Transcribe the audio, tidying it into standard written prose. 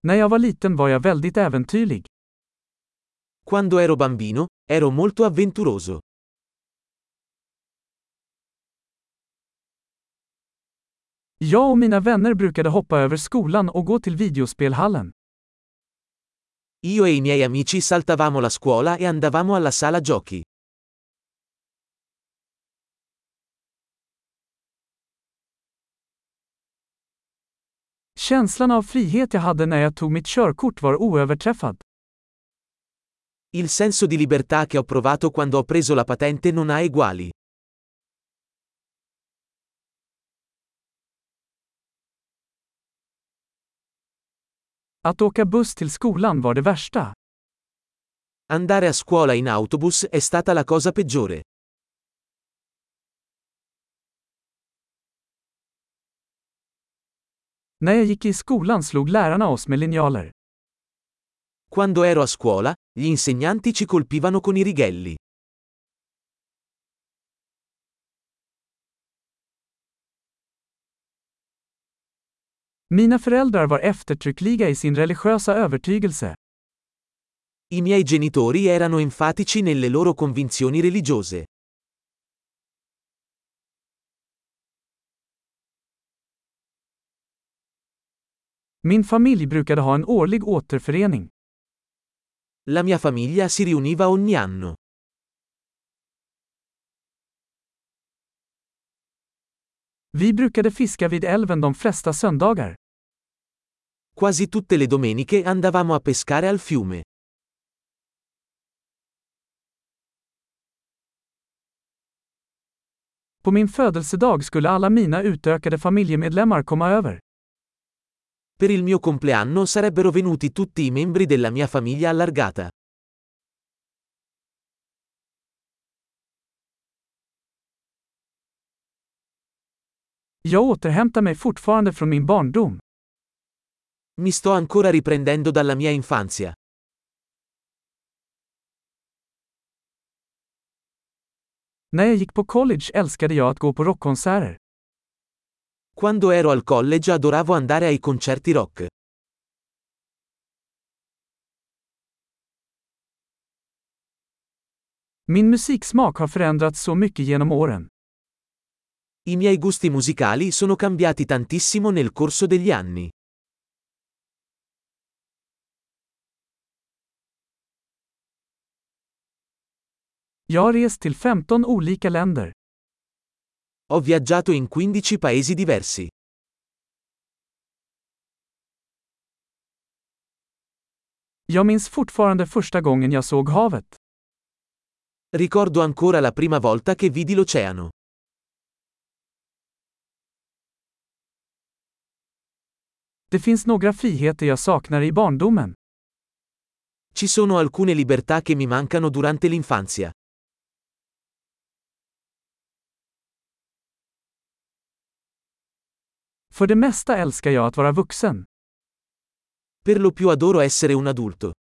När jag var liten var jag väldigt äventyrlig. Quando ero bambino, ero molto avventuroso. Jag och mina vänner brukade hoppa över skolan och gå till videospelhallen. Io e i miei amici saltavamo la scuola e andavamo alla sala giochi. Känslan av frihet jag hade när jag tog mitt körkort var oöverträffad. Il senso di libertà che ho provato quando ho preso la patente non ha eguali. Att åka buss till skolan var det värsta. Andare a scuola in autobus è stata la cosa peggiore. När jag gick i skolan slog lärarna oss med linjaler. Quando ero a scuola, gli insegnanti ci colpivano con i righelli. Mina föräldrar var eftertryckliga i sin religiösa övertygelse. I miei genitori erano enfatici nelle loro convinzioni religiose. Min familj brukade ha en årlig återförening. La mia famiglia si riuniva ogni anno. Vi brukade fiska vid älven de flesta söndagar. Quasi tutte le domeniche andavamo a pescare al fiume. På min födelsedag skulle alla mina utökade familjemedlemmar komma över. Per il mio compleanno sarebbero venuti tutti i membri della mia famiglia allargata. Jag återhämtar mig fortfarande från min barndom. Mi sto ancora riprendendo dalla mia infanzia. När jag gick på college älskade jag att gå på rockkonserter. Quando ero al college adoravo andare ai concerti rock. Min musiksmak har förändrats så mycket genom åren. I miei gusti musicali sono cambiati tantissimo nel corso degli anni. Jag har rest till 15 olika länder. Ho viaggiato in 15 paesi diversi. Jag minns fortfarande första gången jag såg havet. Ricordo ancora la prima volta che vidi l'oceano. Det finns några friheter jag saknar i barndomen. Ci sono alcune libertà che mi mancano durante l'infanzia. För det mesta älskar jag att vara vuxen. Per lo più adoro essere un adulto.